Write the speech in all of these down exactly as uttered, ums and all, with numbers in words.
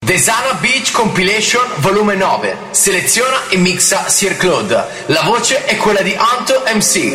Desana Beach Compilation volume nove. Seleziona e mixa Sir Claude. La voce è quella di Anto M C.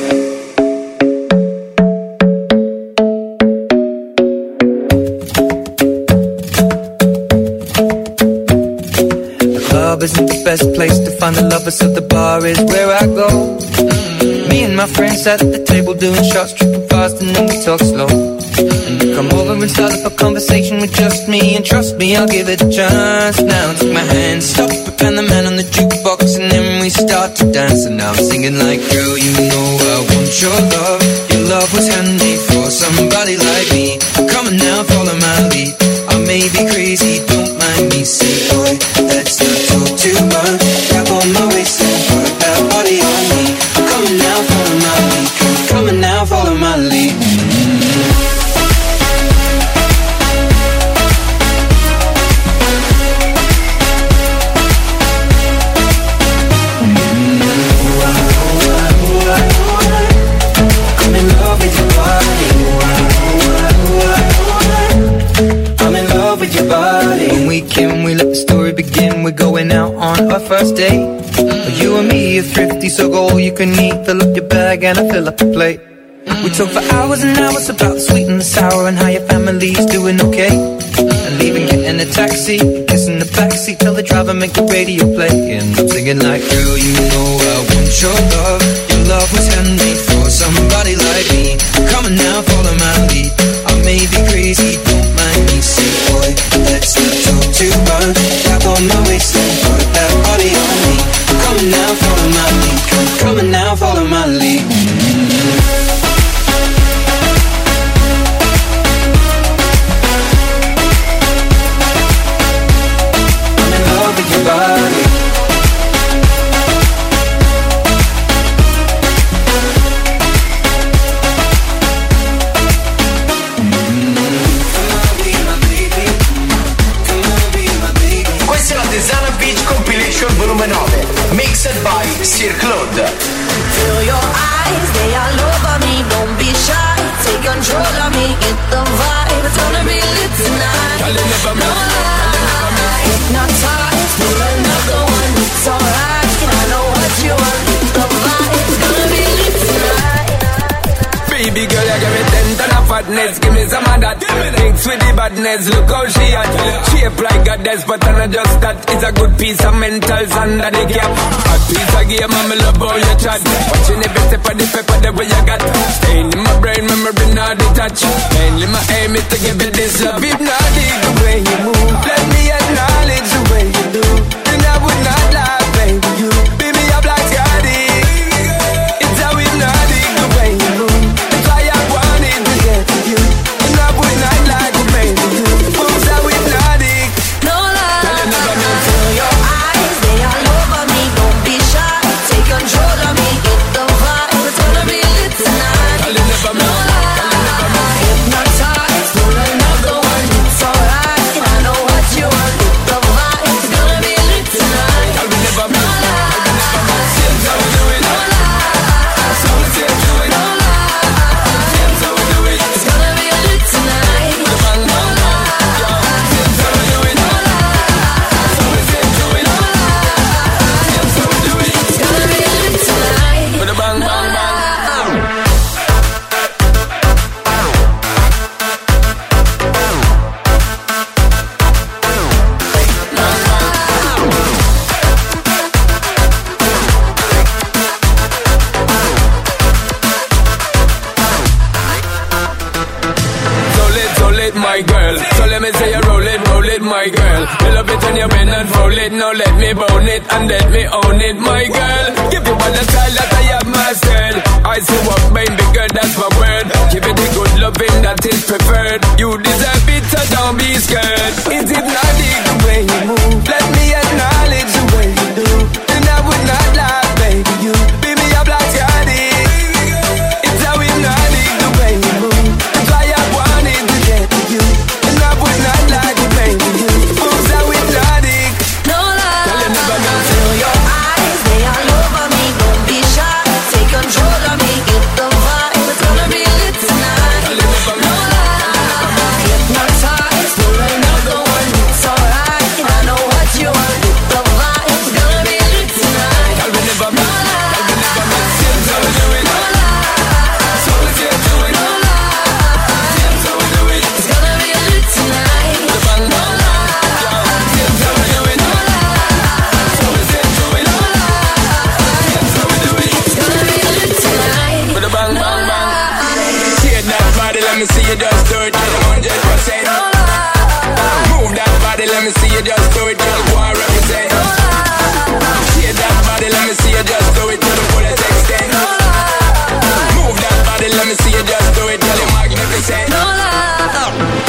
Isn't the best place to find the lovers, so the bar is where I go. Mm-hmm. Me and my friends at the table doing shots, tripping fast and then we talk slow. And you come over and start up a conversation with just me, and trust me, I'll give it a chance. Now take my hand, stop it, and the man on the jukebox, and then we start to dance. And now I'm singing like, girl, you know I want your love. Your love was handmade for somebody like me. Come on now, follow my lead. I may be crazy, don't mind me. Say, boy, let's not talk too much. Grab on my waist and put that body on me. Come on now, follow my lead. Come on now, follow my lead. When we came, we let the story begin. We're going out on our first date. Mm-hmm. You and me are thrifty, so go all you can eat. Fill up your bag and I fill up the plate. Mm-hmm. We talk for hours and hours about the sweet and the sour and how your family's doing okay. Mm-hmm. And leaving, getting a taxi, kissing the backseat, tell the driver make the radio play. And I'm singing like, girl, you know I want your love. Your love was handmade for somebody like me. Come on now, follow my lead. I may be crazy, don't mind me. Say, boy, let's not talk too much. Tap on my waist and put that body on me. Come on now, follow my lead. Come, come on now, follow my lead. Mm-hmm. I'm in love with your body. Volume nove, mixed by Sir Claude. Feel your eyes, they all over me. Don't be shy, take control of me. Get the vibe, it's gonna be lit tonight. No lie, hypnotized, pull another one. It's alright, I know what you want. Get the vibe, it's gonna be lit tonight. Baby girl, you give me ten ton of fatness. Give me some of that. Mix with the badness, look how she at. Shape like a desk, but I'm not just that. It's a good piece of mentals under the cap. A piece of game, I'm love how you chat. Watching every step of the pepper, the way you got. Staying in my brain, memory not detached. Mainly my aim is to give it this love. If not, the way you move, let me acknowledge the way you do. Then I would not lie, baby, you. Baby, I'm like Scotty. It's how hypnotic the way you move. That's why I wanted to get to you. And I would not lie to baby, you. Moves how hypnotic. No lie, feel your eyes, they all over me. Don't be shy, take control of me. Get the vibe, it's gonna be lit tonight. No lie, hypnotized, pull another one. It's alright, I know what you want. Get the vibe, it's gonna be lit tonight. No lie, Seems how we do it. no lie, So we say do it. no lie. Seems how we do it. It's gonna be lit tonight. The bang No bang lie, bang. Seems how we do it. no lie. So we say do it. Seems how we do it. It's gonna be lit tonight. With the bang bang bang. So lit, so lit, my girl. So let me say you roll it, roll it, my girl. You love it when you bend and roll it. Now let me bone it and let me own it, my girl. Give you all the style that I have mastered. I see what baby girl, that's my word. Give it the good loving that is preferred. You deserve it, so don't be scared. It's hypnotic the way you move. Let me acknowledge the way you do. And I would not lie, baby, you. Baby, I'm like Scotty. It's how hypnotic the way you move. That's why I wanted to get to you. And I would not lie to baby, you. Moves how hypnotic. No lie, Tell you never know. feel your eyes, they all over me. Don't be shy, take control of me. Get the vibe, it's gonna be lit tonight. Tell you never No know. lie, hypnotized, pull another one. It's alright, I see you just do it, girl, go and represent. Shake that body, let me see you just do it to the fullest extent. Move that body, let me see you just do it, girl, you're magnificent. No love.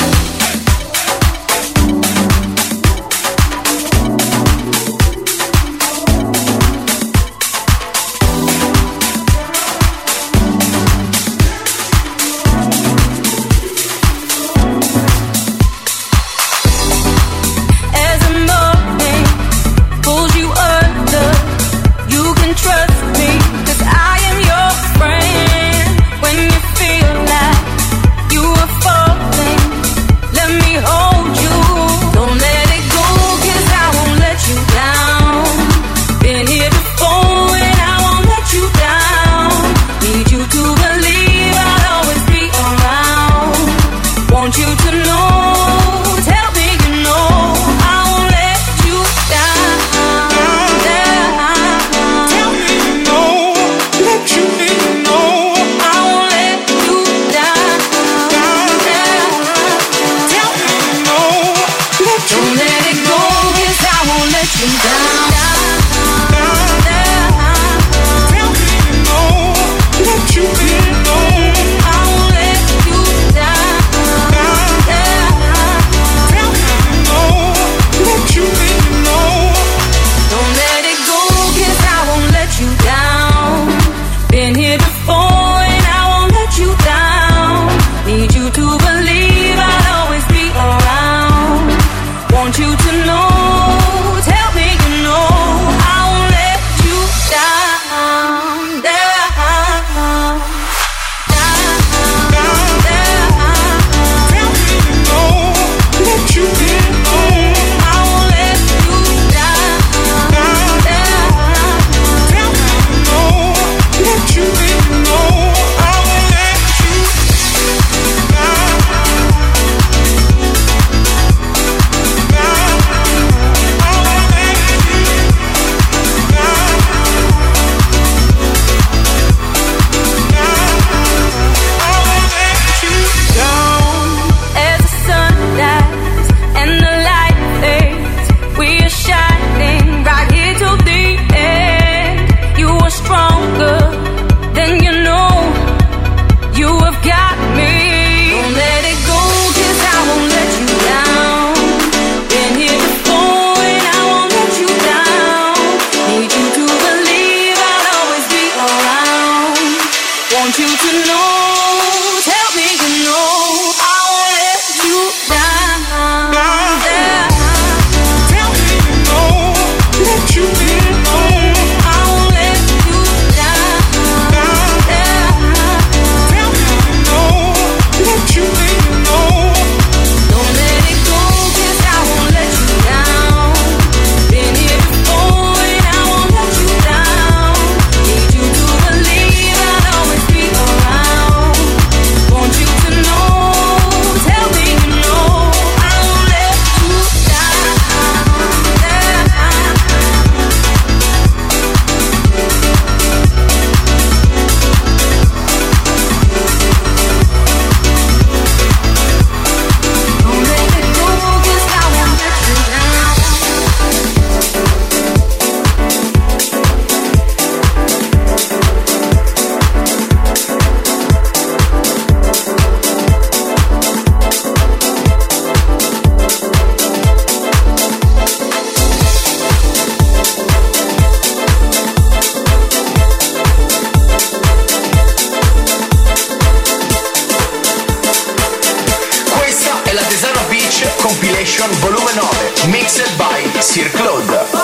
Compilation volume nove, mixed by Sir Claude. Oh,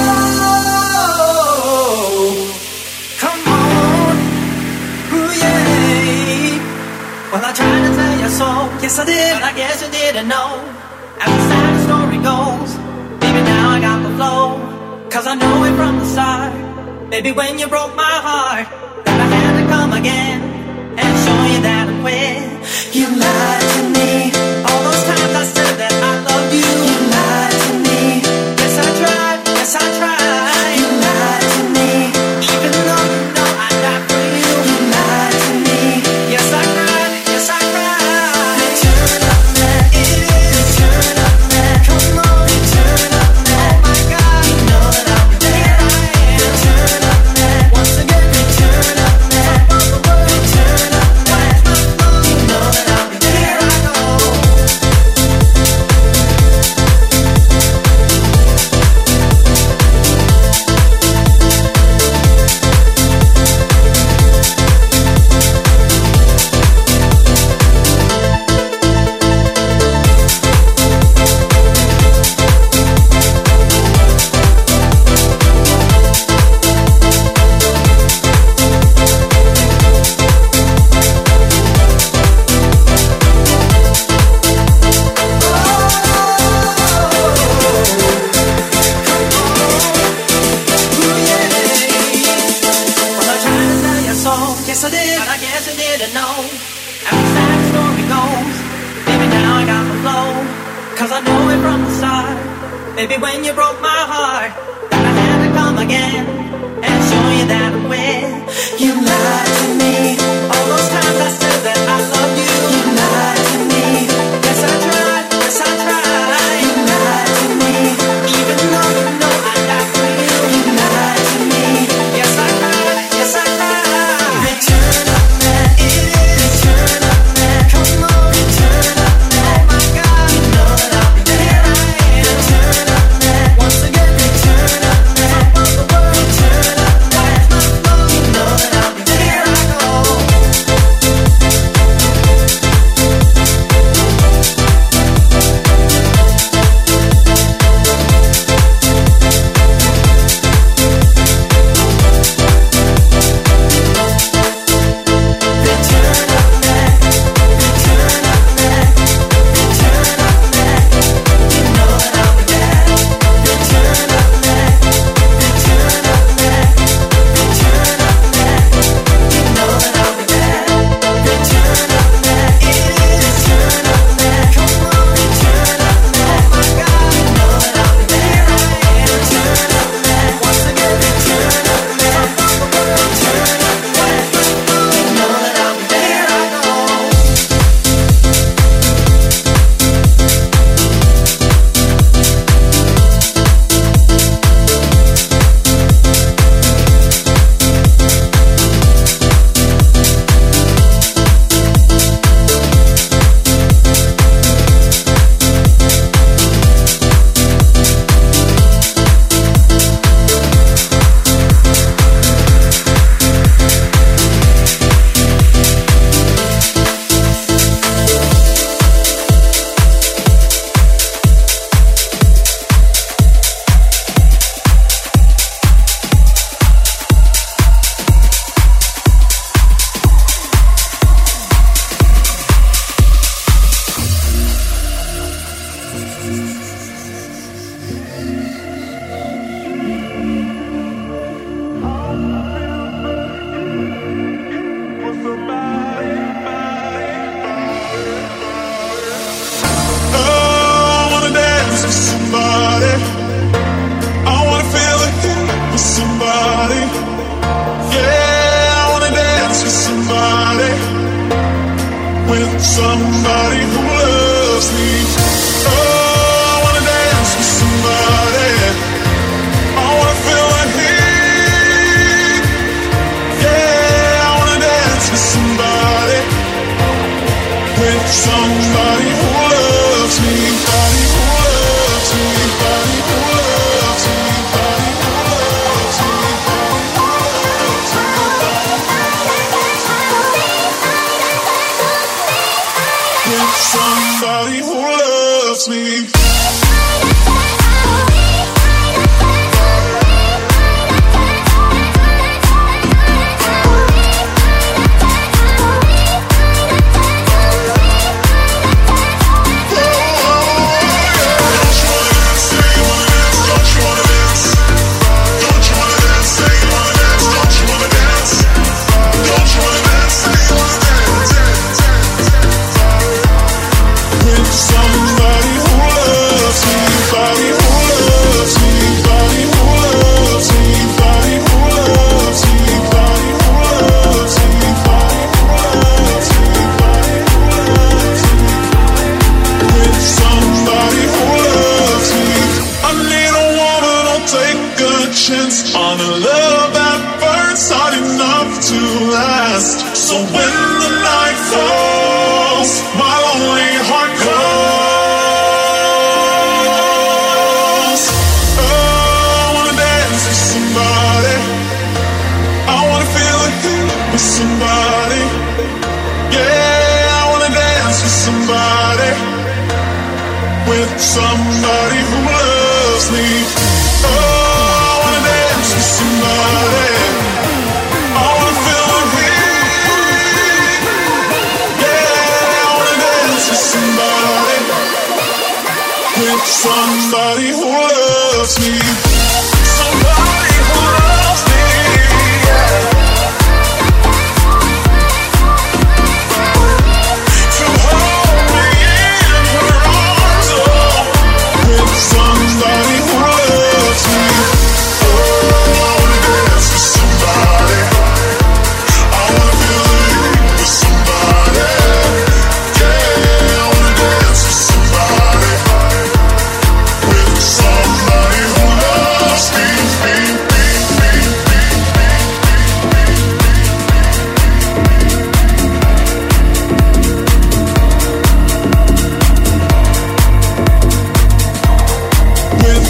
come on, ooh yeah. Well, I tried to tell you so, yes I did, but I guess you didn't know. As the sad story goes, baby now I got the flow. Cause I know it from the start, baby when you broke my heart, that I had to come again and show you that I'm with. You lied to me, all those times I said that I loved you. You lied to me, yes I tried, yes I tried. You lied to me, even though you know I died for you. You lied to me, yes I cried, yes I cried. Turn up man, it is turn up man. Come on. Baby, when you broke my heart, that I had to come again and show you that I'm with. You lied to me. All those times I said that I love you. You lied to me. Yes, I tried. Yes, I tried. You lied to me. Even though you know I died for you. You lied to me. Yes, I cried. Yes, I cried. Return of man. It is return of man. Come on, return of man. Oh my God, you know that I'll be there. I am. Return of man. Once again, return of man. Top of the world, return of man. Watch my flow, you know that I'll be there. I go. Somebody who loves me. Oh, I wanna dance with somebody. I wanna feel the heat. Yeah, I wanna dance with somebody. With somebody who loves me. Body who loves me. Body who loves me. Body who loves me. Body who loves me. With somebody who loves me. Somebody who loves me, body who loves me, body who loves me, body who loves me, body who loves me, body who loves me, body who loves me. With somebody who loves me. I need a woman who'll take a chance on a love at first sight enough to last. So when the night falls, my lonely heart calls. Oh, I wanna dance with somebody. I wanna feel the heat with somebody. Yeah, I wanna dance with somebody. With somebody who loves me. Oh, I wanna dance with somebody. I wanna feel the heat. Yeah, I wanna dance with somebody. With somebody who loves me. Somebody who loves me. Yeah. To hold me in her arms. Oh. With somebody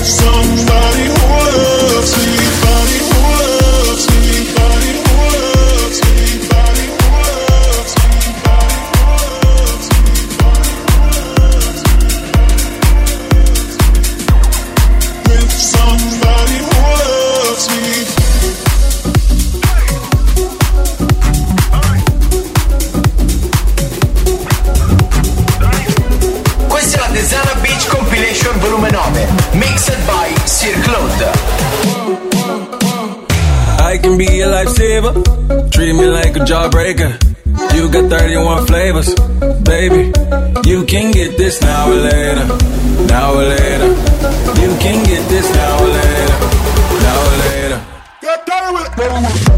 somebody who loves me, body who loves me, body who loves me, body who loves me, body who loves me, with somebody who loves me. Questa è la Desana Beach Compilation volume nove, mixed by Sir Claude. I can be a lifesaver, treat me like a jawbreaker. You got thirty-one flavors, baby. You can get this now or later, now or later. You can get this now or later, now or later. Get down with it.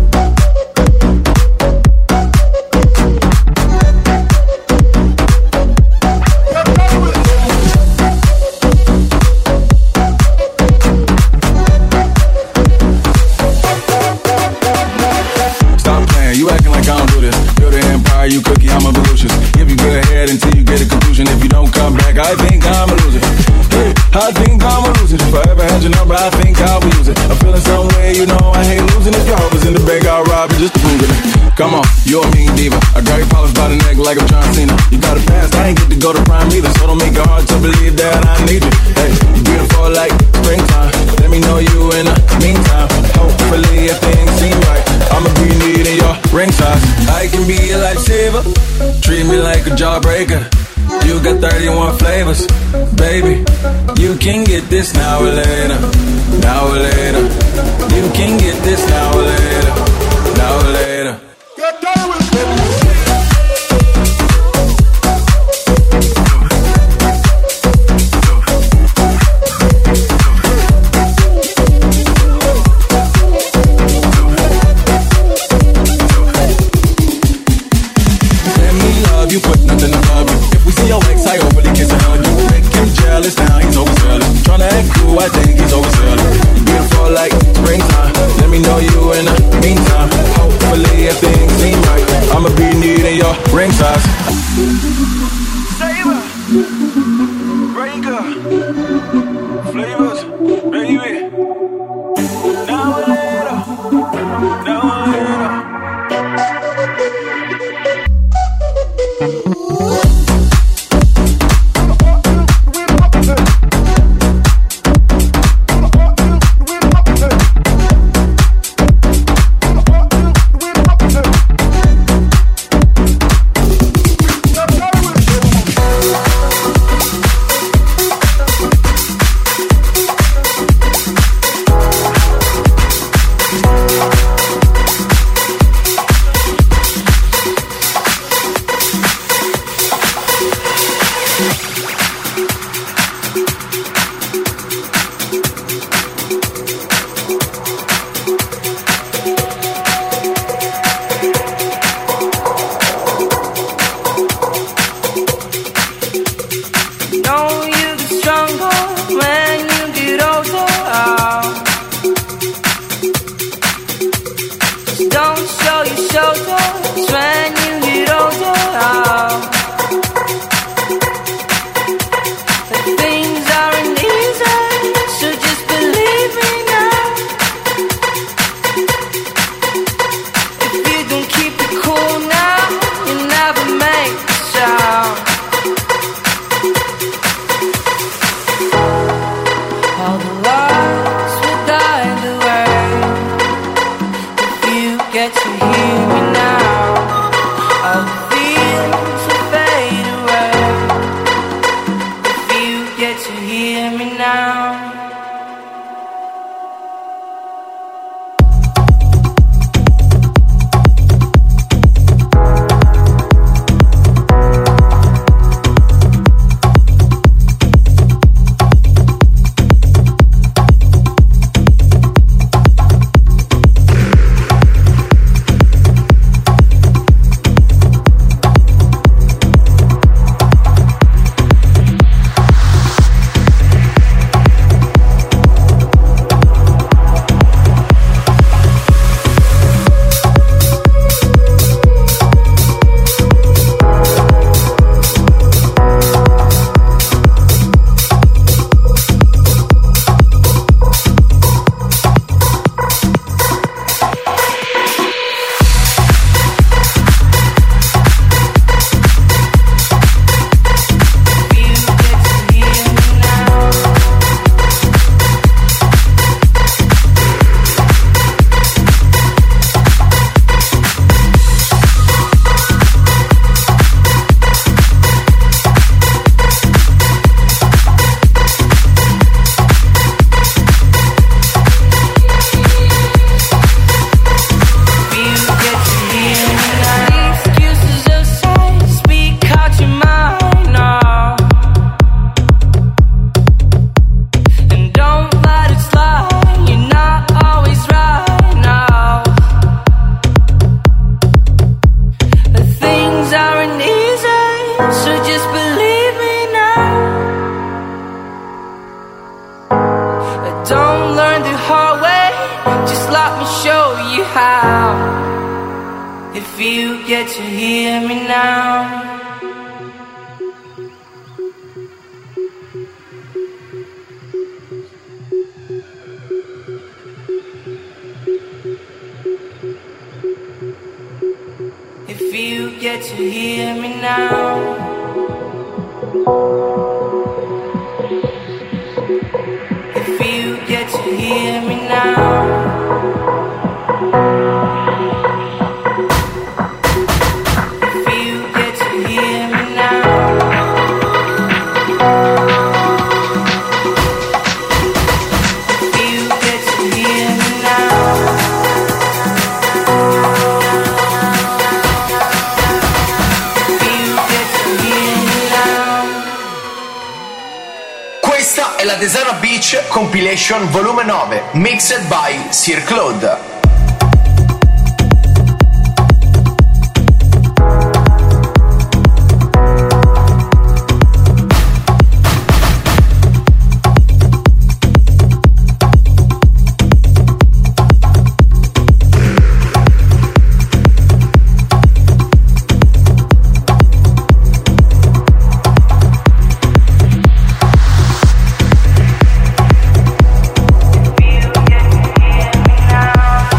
You acting like I don't do this. You're the empire, you cookie, I'm a Volusius. Give you good head until you get a conclusion. If you don't come back, I think I'm a loser. Hey, I think I'm a loser. If I ever had your number, I think I'll use it. I'm feeling some way, you know I hate losing. If your heart was in the bag, I'll rob you just to prove it. Come on, you're a mean diva. I grab your polish by the neck like I'm John Cena. You got a past, I ain't get to go to prime either. So don't make it hard to believe that I need you. Hey, you beautiful like springtime. Let me know you in the meantime. Hopefully if things seem right, I'ma be needing your ring size. I can be a lifesaver, treat me like a jawbreaker. You got thirty-one flavors, baby. You can get this now or later, now or later. You can get this now or later, now or later. Get down with it. You put nothing above you. If we see your ex, I overly kiss and hug you. Make him jealous, now he's overselling. Tryna act cool, I think he's overselling. You beautiful like springtime. Let me know you in the meantime. Hopefully if things seem right, I'ma be needing your ring size. Saver, breaker, flavors, baby. Now or later, now or later. but don't learn the hard way. Just let me show you how. If you get to hear me now. If you get to hear me now. If you get to hear me now. If you get to hear me now. If you get to hear me now. Questa è la Desana Beach Compilation Volume nove, mixed by Sir Claude. Now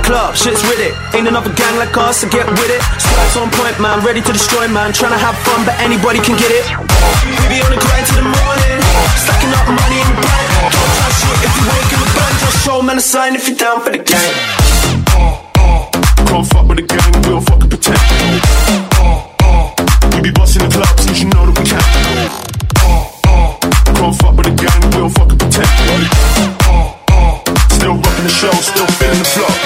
club, shit's with it. Ain't another gang like us, so get with it. Stripes on point, man, ready to destroy, man. Tryna have fun, but anybody can get it. We be on the grind till the morning, stacking up money in the bank. Don't try shit if you ain't in the band. Just show man a sign if you're down for the gang. Can't fuck with the gang, we don't fucking pretend. We be busting the clubs, cause you know that we can. Can't fuck with the gang, we don't fucking pretend. Still rocking the show, still feeling the flow.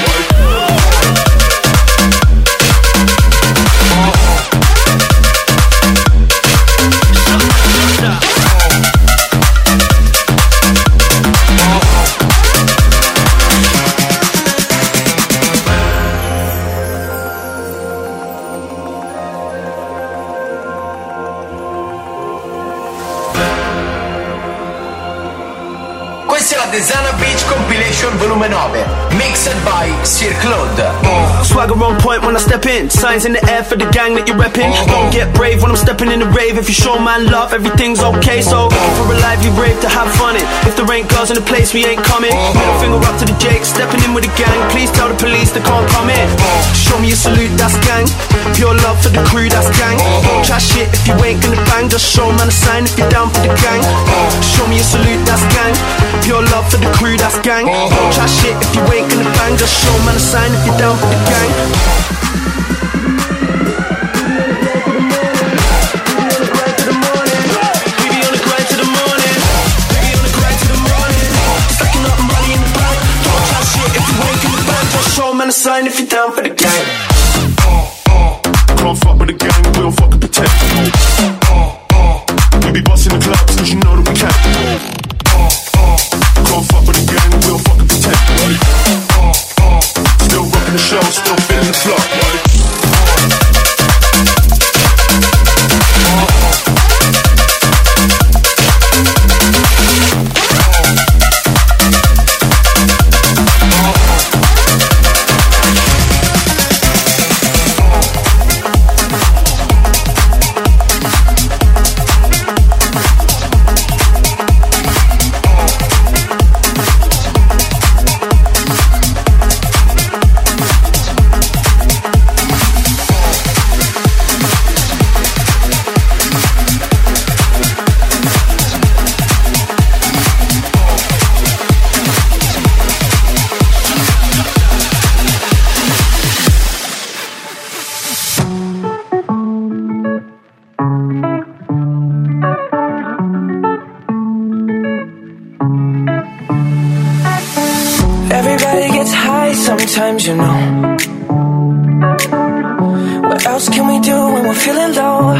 Questa è la Desana Beach Compilation volume nove, mixed by Sir Claude. uh, Swagger on point when I step in, signs in the air for the gang that you're repping. Don't get brave when I'm stepping in the rave. If you show man love, everything's okay. So for a lively rave to have fun in. If there ain't girls in the place, we ain't coming. Middle finger up to the Jake, stepping in with the gang. Please tell the police they can't come in. Show me a salute, that's gang. Pure love for the crew, that's gang. Don't try shit if you ain't gonna bang. Just show man a sign if you're down for the gang. Show me a salute, that's gang. Pure love for the crew, that's gang. Don't try shit if you ain't gonna bang. Just show man a sign if you're down for the gang. We be on the grind to the morning. We be on the grind to the morning. Stacking up money in the bank. Don't try shit if you ain't gonna bang. Just show man a sign if you're down for the gang. Can't fuck with the gang, we don't fucking pretend. We be busting the clubs, cause you know that we can. Can't fuck with the gang, we don't fucking pretend. Still rocking the show, still feeling the flow. Sometimes, you know. What else can we do when we're feeling low?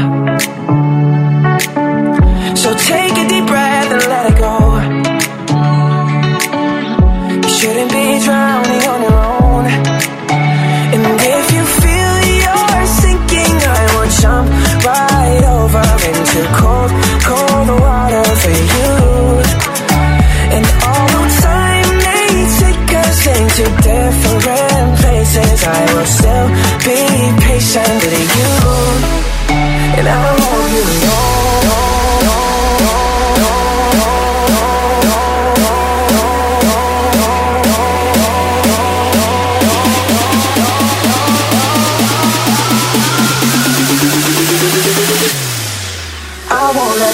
So take a deep breath and let it go. You shouldn't be drowning on your own. And if you feel you're sinking, I will jump right over into cold, cold water for you. And although time may take us into different places, I will still be patient with you. And I want you to know. I won't let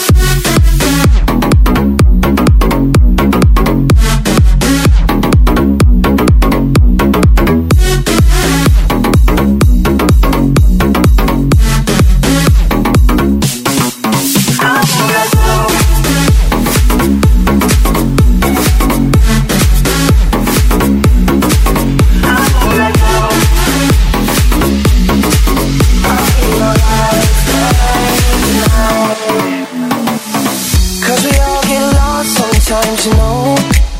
sometimes, you know.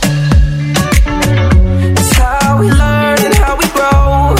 It's how we learn and how we grow.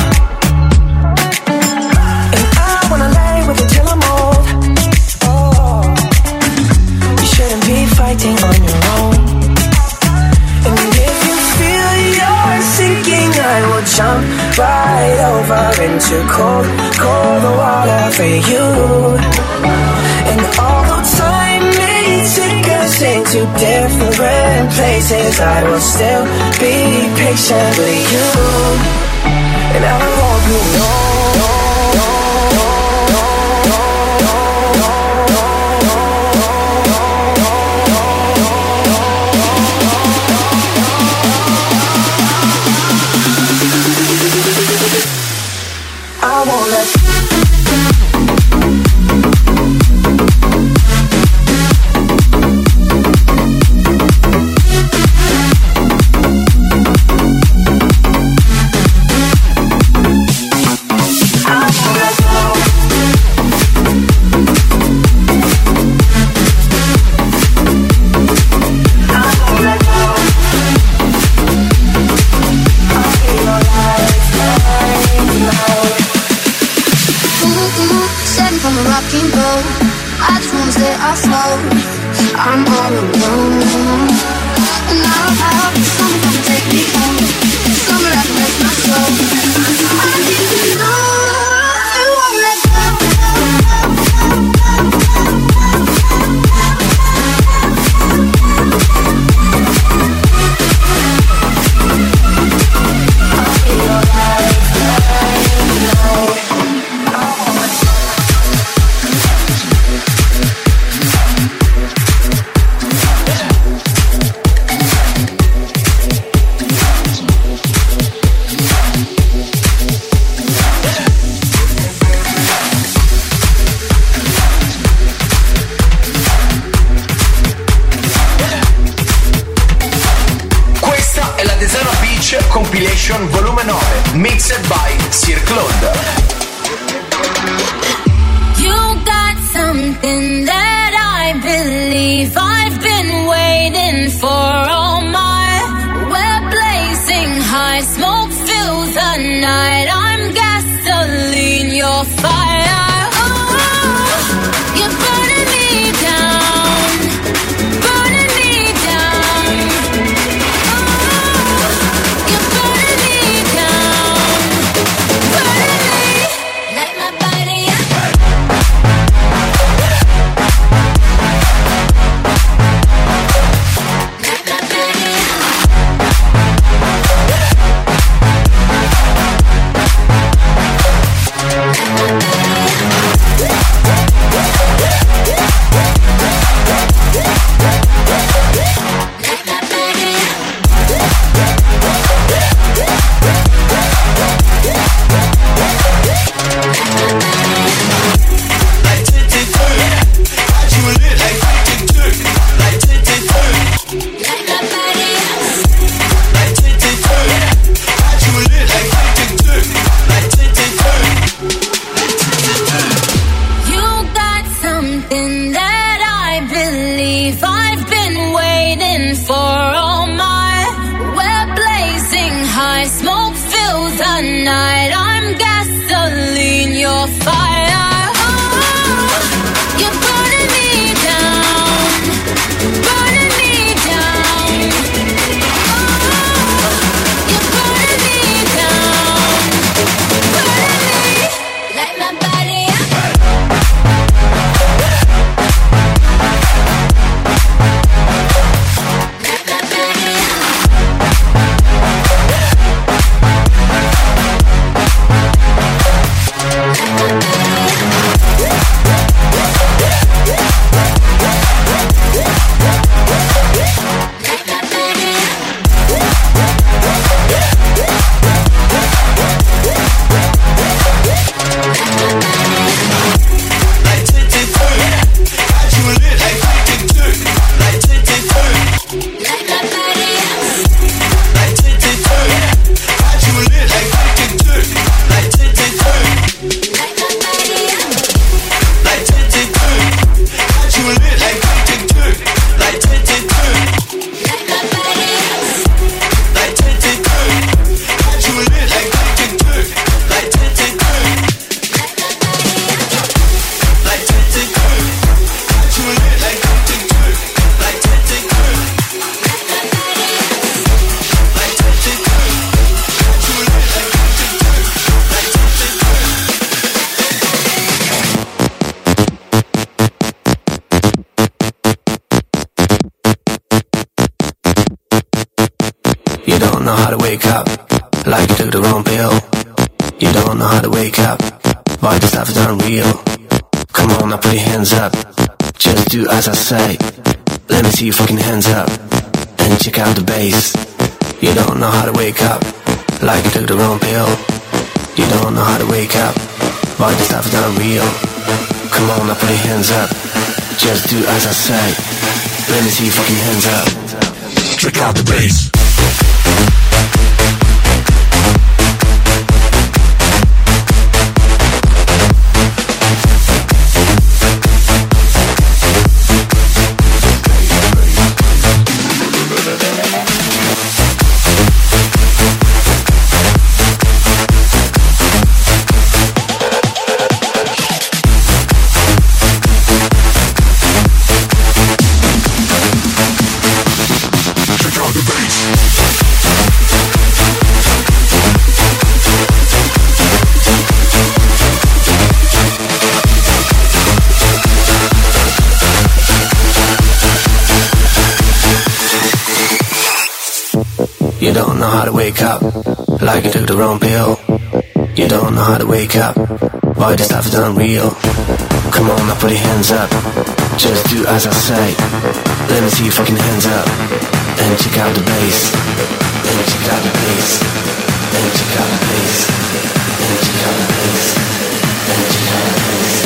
And I wanna lay with you till I'm old. Oh, you shouldn't be fighting on your own. And if you feel you're sinking, I will jump right over into cold, cold water for you. And although time may take us us into different places, I will still be patient with you, and I won't be long. I won't let I'm all alone, and now I hope someone can take me home, somewhere I can rest my soul. I need to know it won't let I'll be alright, I know. Compilation volume nove, mixed by Sir Claude. You got something that I believe I've been waiting for all my. We're blazing high, smoke fills the night. I'm gasoline, you're fire. Oh, you're burning me down, burning me down. to wake up, like you took the wrong pill. You don't know how to wake up, why this stuff is unreal. Come on, now put your hands up, just do as I say. Let me see your fucking hands up, and check out the bass. You don't know how to wake up, like you took the wrong pill. You don't know how to wake up, why this stuff is unreal. Come on, now put your hands up, just do as I say. Let me see your fucking hands up. Check out the bass. You don't know how to wake up, like you took the wrong pill. You don't know how to wake up, why this stuff is unreal. Come on, now put your hands up, just do as I say. Let me see your fucking hands up, and check out the bass. And check out the bass. And check out the bass. And check out the bass. And check out the bass.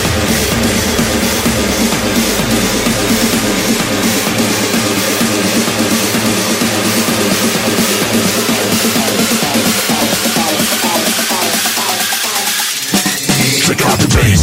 Check out the bass.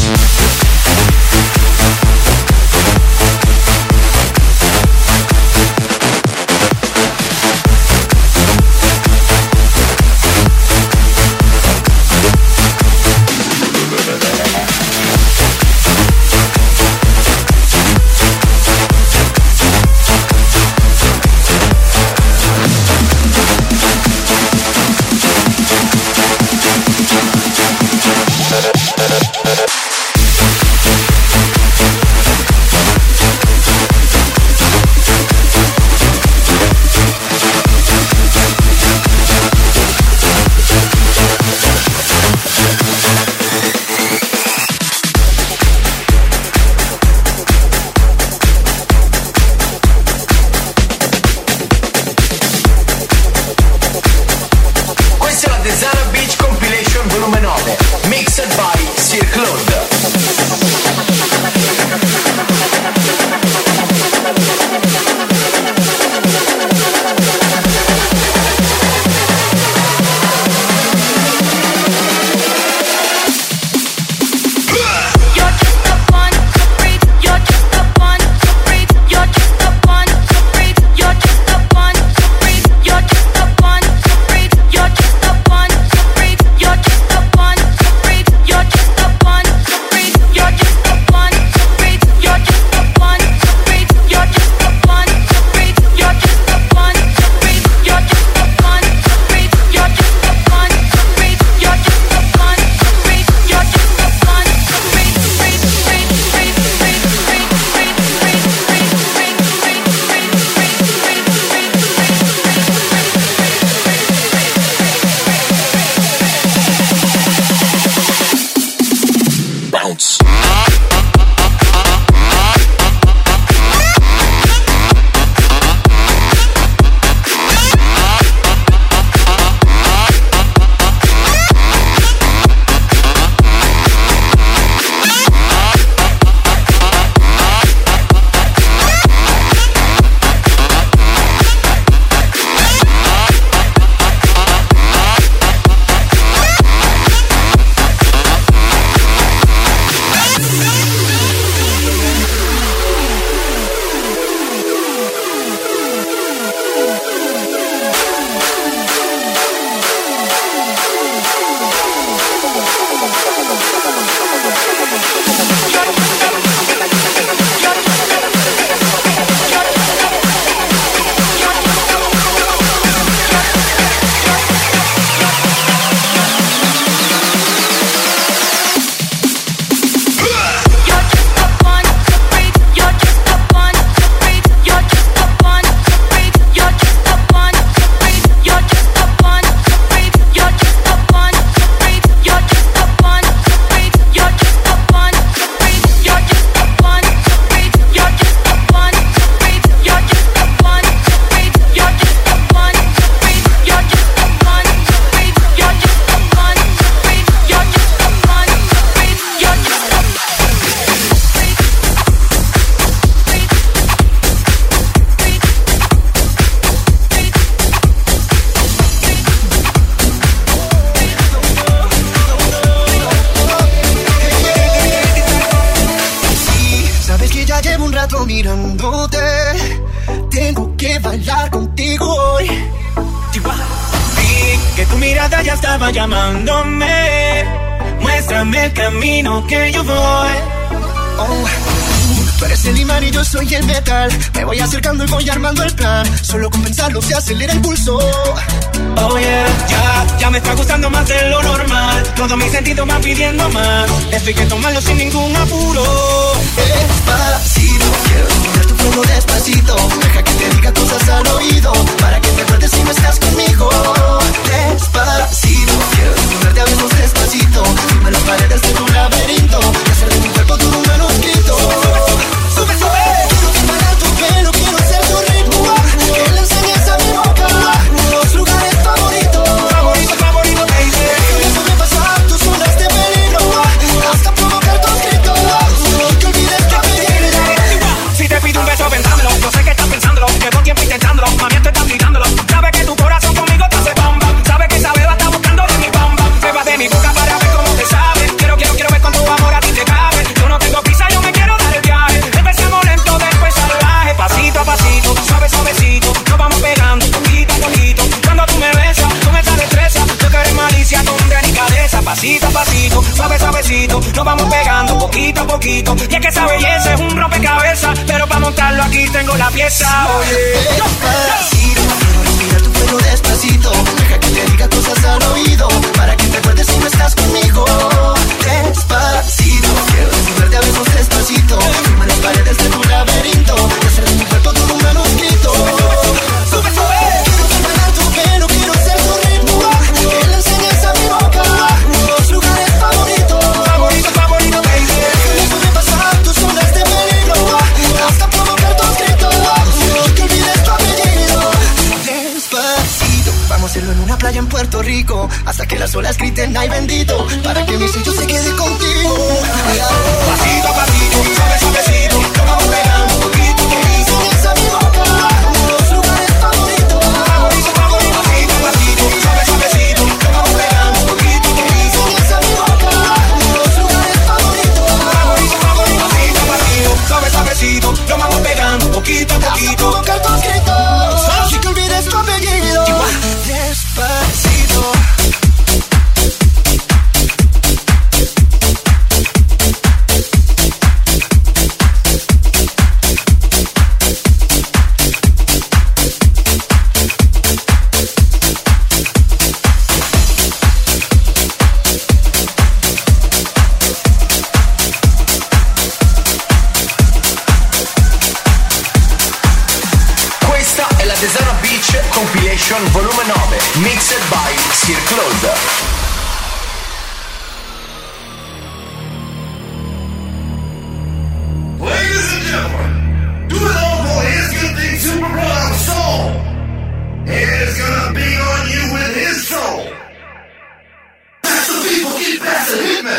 quedo mirándote. Tengo que bailar contigo hoy. Vi que tu mirada ya estaba llamándome. Muéstrame el camino que yo voy. Oh. Tú eres el imán y yo soy el metal. Me voy acercando y voy armando el plan. Solo con pensarlo se acelera el pulso. Oh yeah, ya, ya me está gustando más de lo normal. Todos mis sentidos van pidiendo más. Esto hay que tomarlo sin ningún apuro. Despacito, quiero escuchar tu flow despacito. Deja que te diga cosas al oído, para que te acuerdes si no estás conmigo. Despacito, quiero desnudarte a besos despacito. Firma las paredes de tu laberinto y hacer de mi cuerpo todo un manuscrito. Sube, sube, quiero disparar tu pelo, quiero ser tu ritmo. Que le enseñes a mi boca los lugares favoritos. Favorito, favorito, baby. Déjame sobrepasar tus zonas de peligro hasta provocar tus gritos. Que olvides tu apellido. Si te pido un beso, pensándolo. Yo sé que estás pensándolo. Llevo tiempo intentándolo. Mami, esto estás gritándolo. Sabes que tu corazón conmigo te hace bam bam. Sabes que esa beba está buscando de mi bam bam. Beba de mi boca para ver cómo te sabe. Quiero, quiero, quiero ver cuánto amor a ti te cabe. Yo no tengo prisa, yo me quiero dar el viaje. Empecemos lento, después salvaje. Pasito a pasito, suave, suavecito. Nos vamos pegando poquito a poquito. Cuando tú me besas, con esa destreza. Yo que eres malicia con delicadeza. Pasito a pasito, suave, suavecito. Nos vamos pegando poquito a poquito. Y es que esa belleza es un rompecabezas. Pero para montarlo aquí tengo la pieza. Oye, despacito, quiero respirar tu pelo despacito. Deja que te diga cosas al oído, para que te acuerdes si no estás conmigo. Despacito, quiero desnudarte a besos despacito. Firma las paredes de tu laberinto y hacer de mi cuerpo todo un manuscrito. Sube, sube, quiero disparar tu pelo, quiero ser tu ritmo. Que le enseñes a mi boca los lugares favoritos. Favorito, favorito, baby. Déjame sobrepasar tus zonas de peligro hasta provocar tus gritos. Que olvides tu apellido. Despacito, vamos a hacerlo en una playa en Puerto Rico, hasta que las olas griten ay bendito, para que mi sello se quede contigo. Pasito a pasito, suave, suavecito, nos vamos pegando poquito a poquito. Enseñas a mi boca los lugares favoritos. Favorito, favorito, pasito a pasito, suave, suavecito, nos vamos pegando poquito a poquito. Enseñas a mi boca los lugares favoritos. Favorito, favorito, pasito a pasito, suave, suavecito, nos vamos pegando poquito a poquito. Hasta provocar tus gritos, así que olvides tu apellido. Despacito. Desana Beach Compilation volume nove, mixed by Sir Claude. Ladies and gentlemen, do it all for his good thing Super Brown soul. He's gonna be on you with his soul. That's the people keep passing hit me.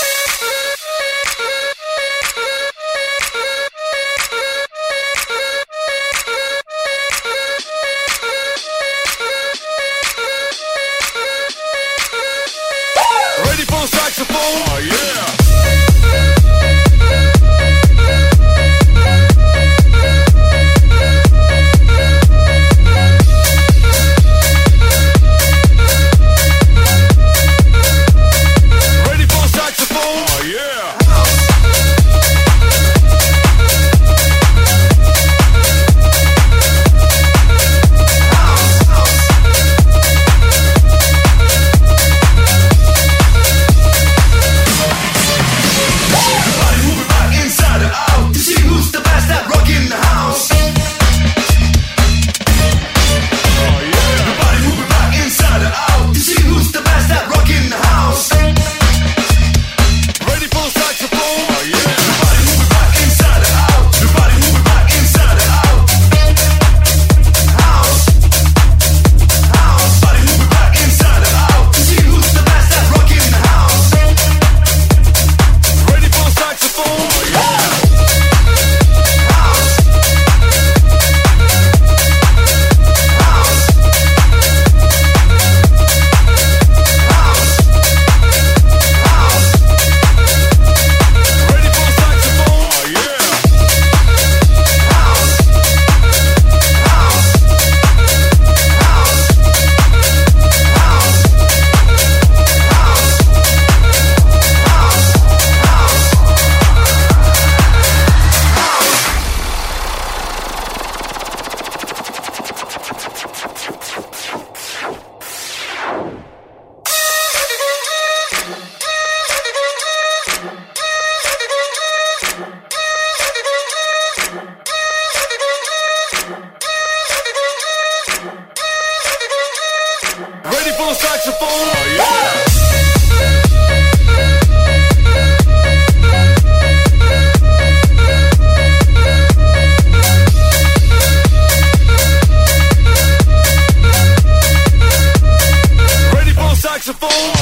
Saxophone, oh yeah.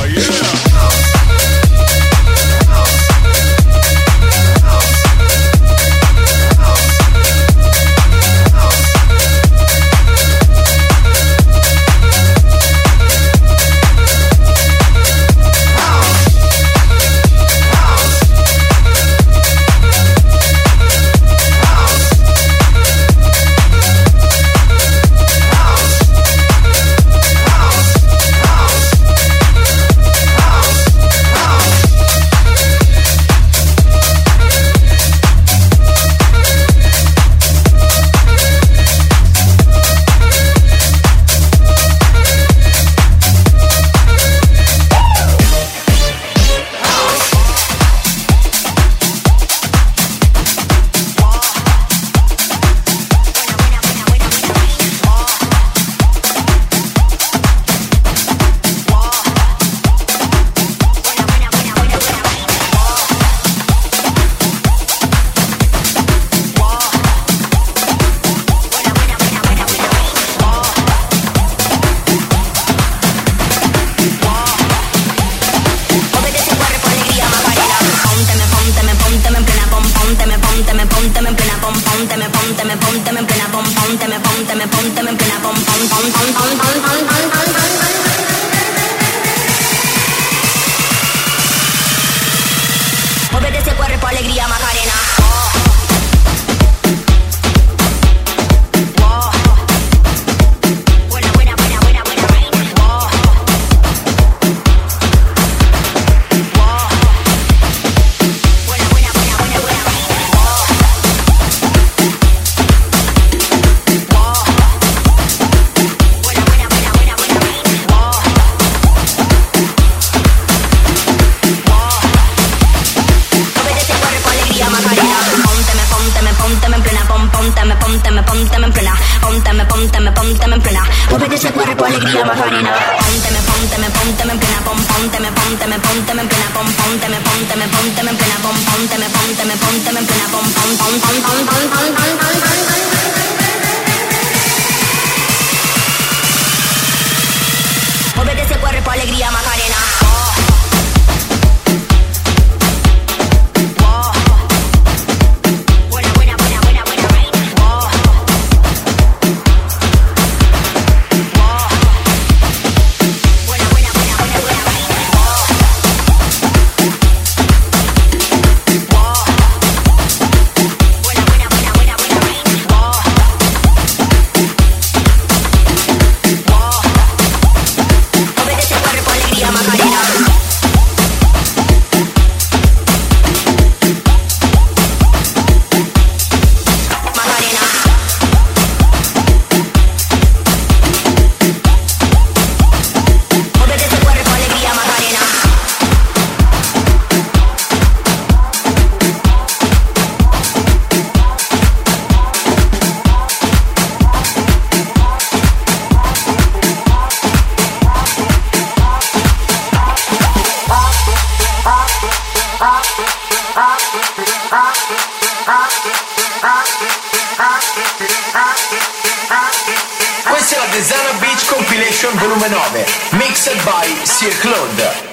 Questa è la Designer Beach Compilation volume nove, mixed by Sir Claude.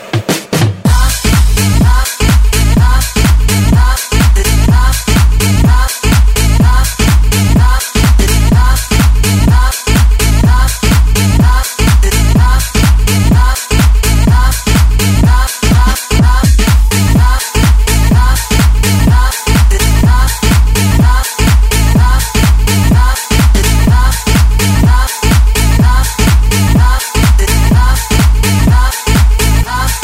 Up.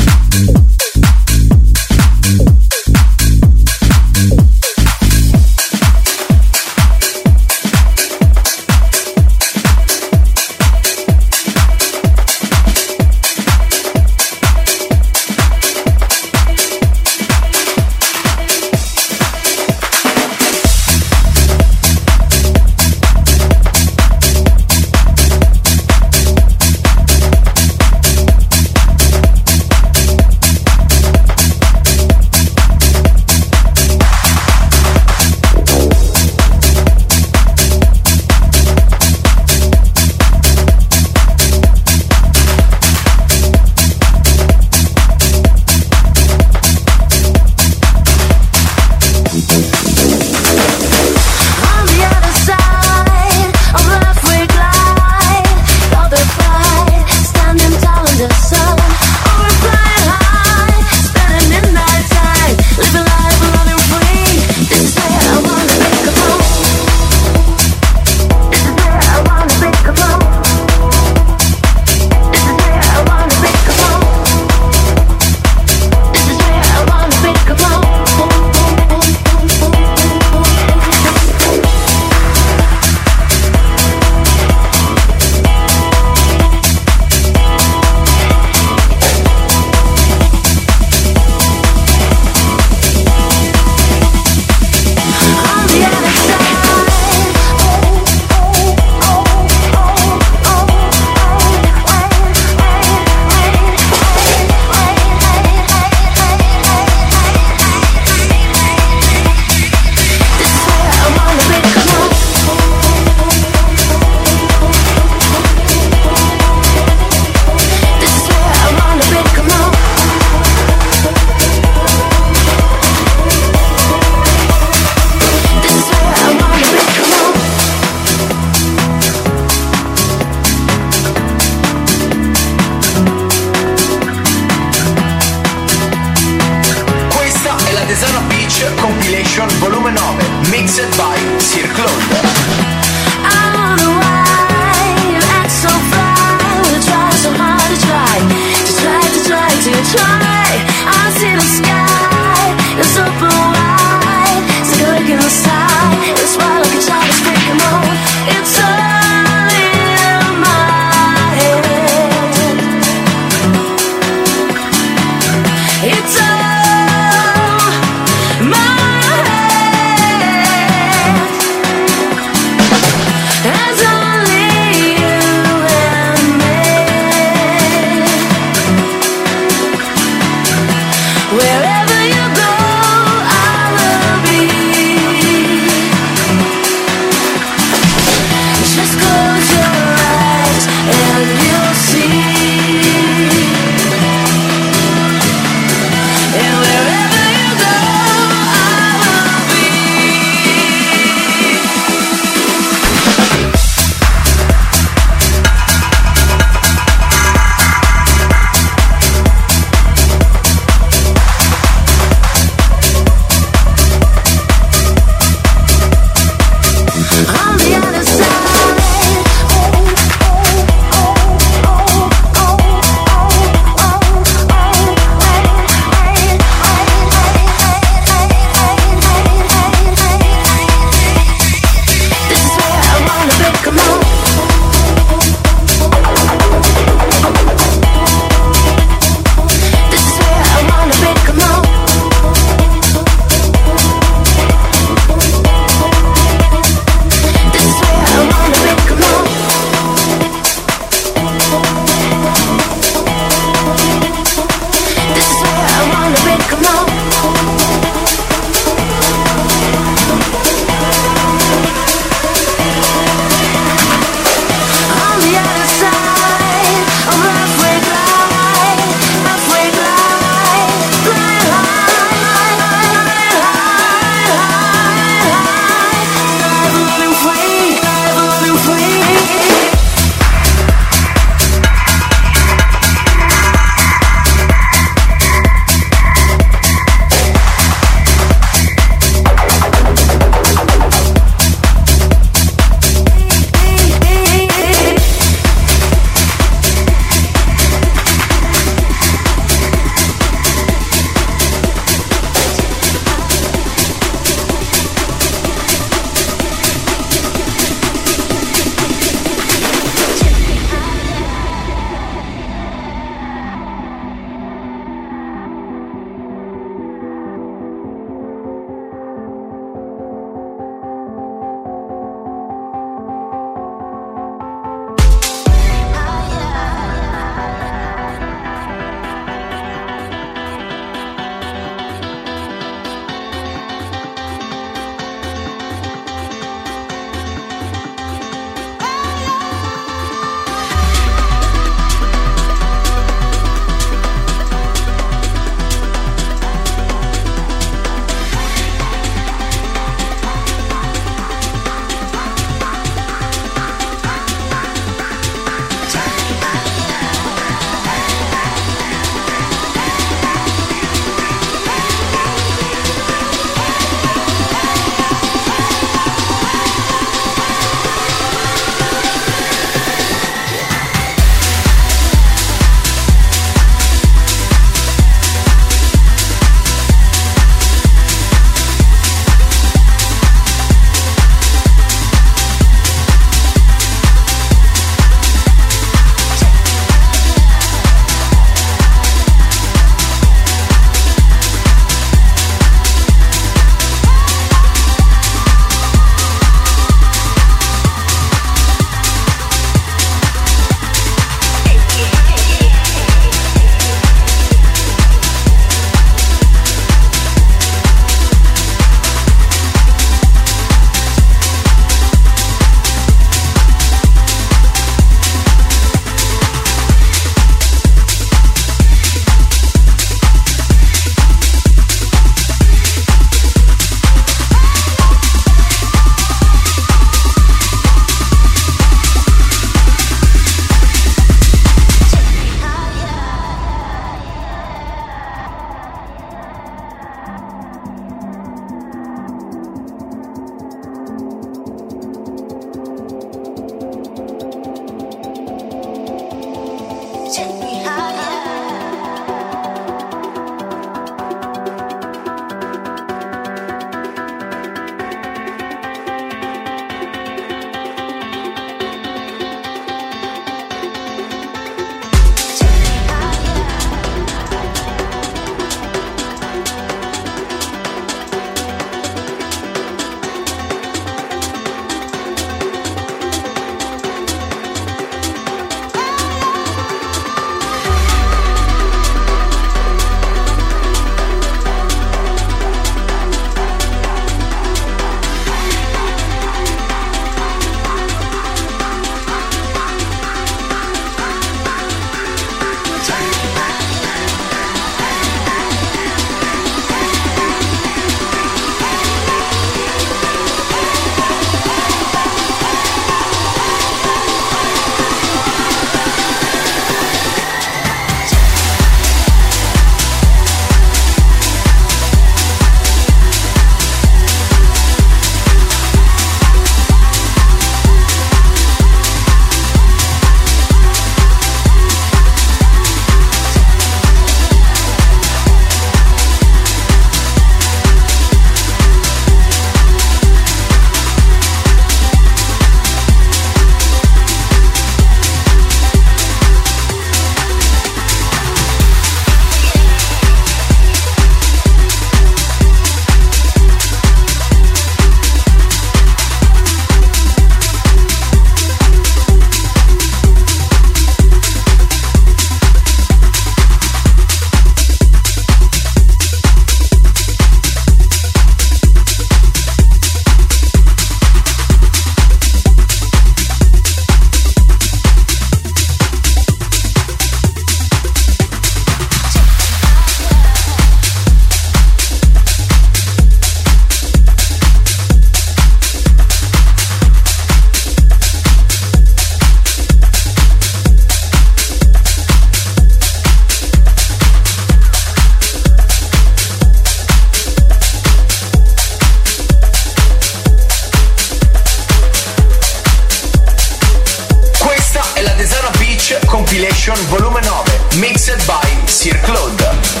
Compilation volume nove, mixed by Sir Claude.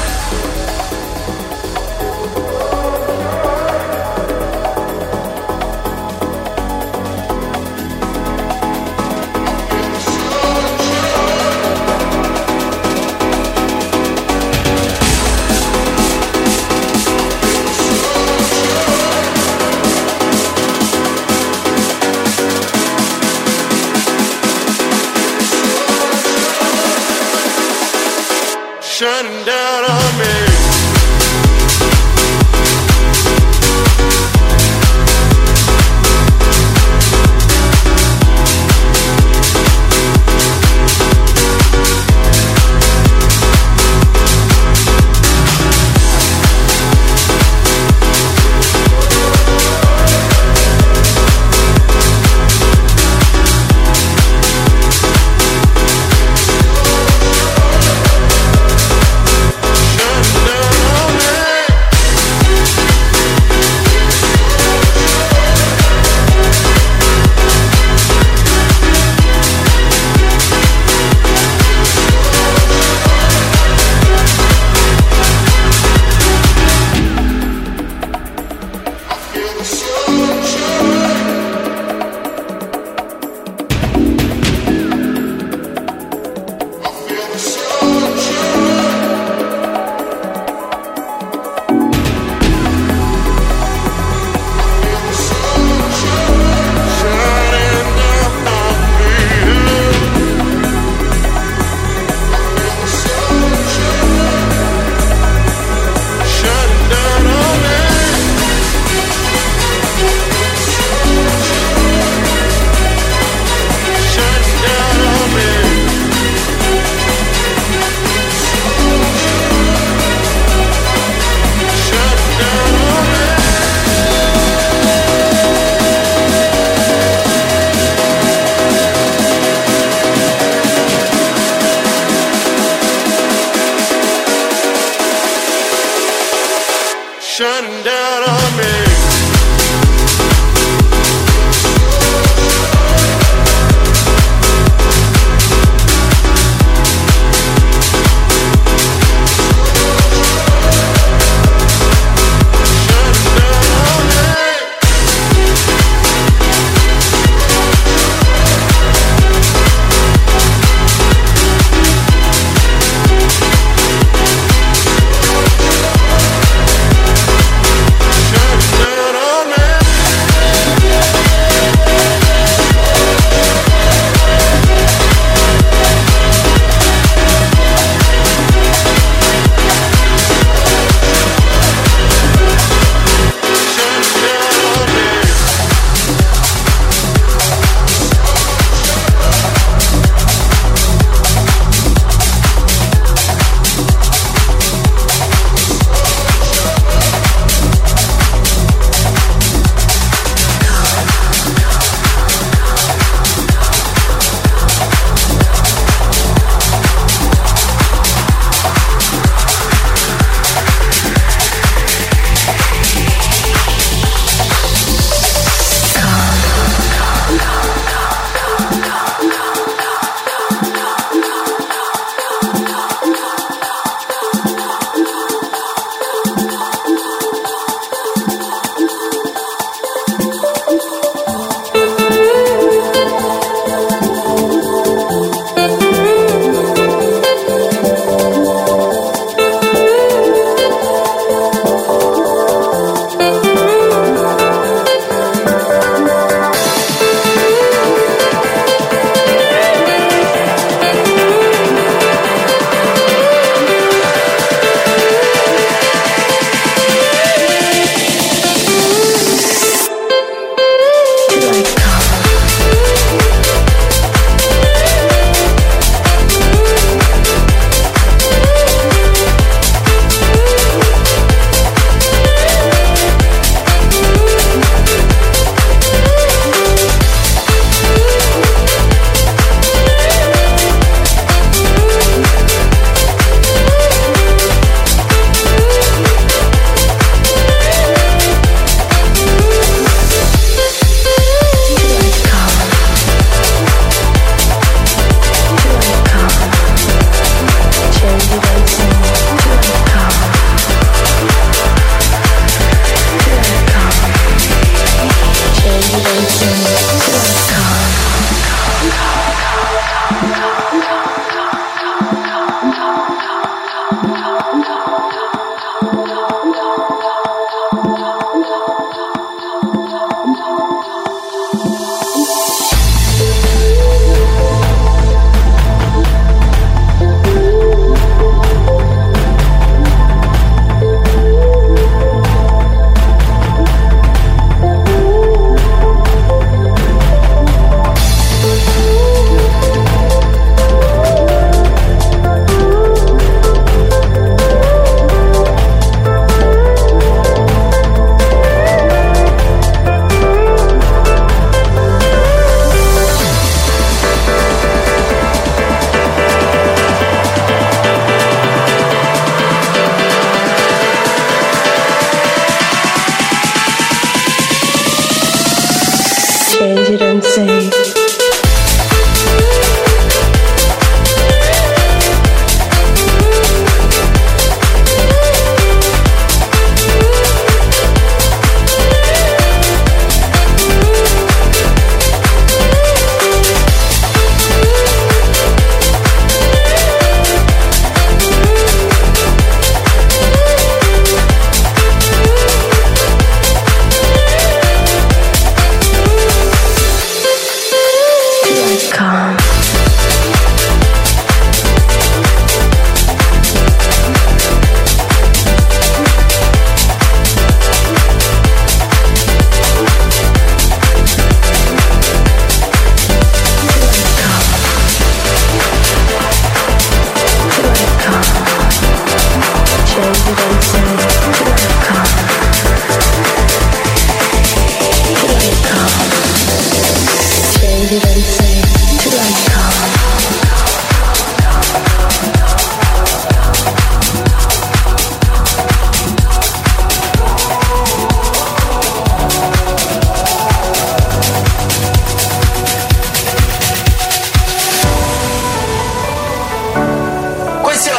Shining down on me. Shining down on me.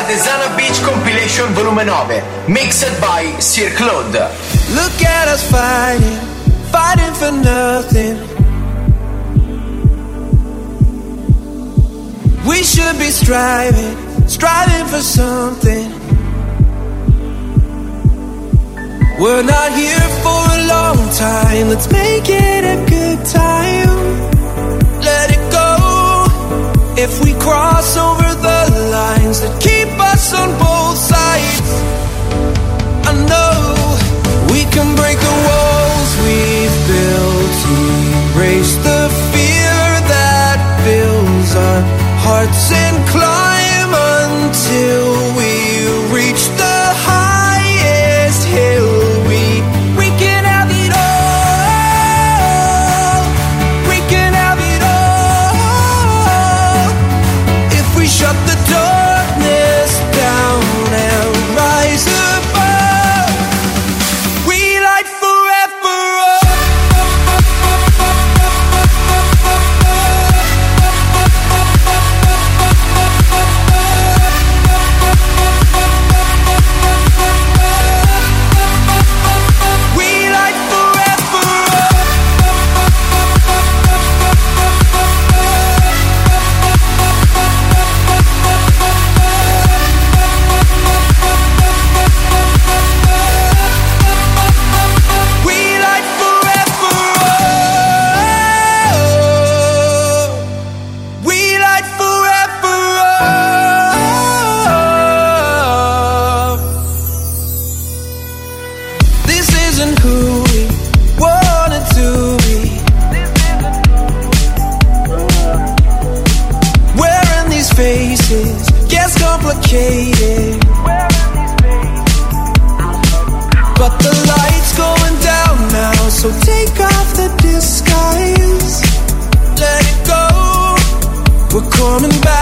Desana Beach Compilation volume nove, mixed by Sir Claude. Look at us fighting, fighting for nothing. We should be striving, striving for something. We're not here for a long time, let's make it a good time. Let it go, if we cross over the lines that keep us on both sides. I know we can break the walls we've built, erase the fear that fills our hearts and climb until we reach the highest hill. We, we can have it all. We can have it all. If we shut the darkness down and rise above, we light forever complicated, but the light's going down now, so take off the disguise. Let it go, we're coming back.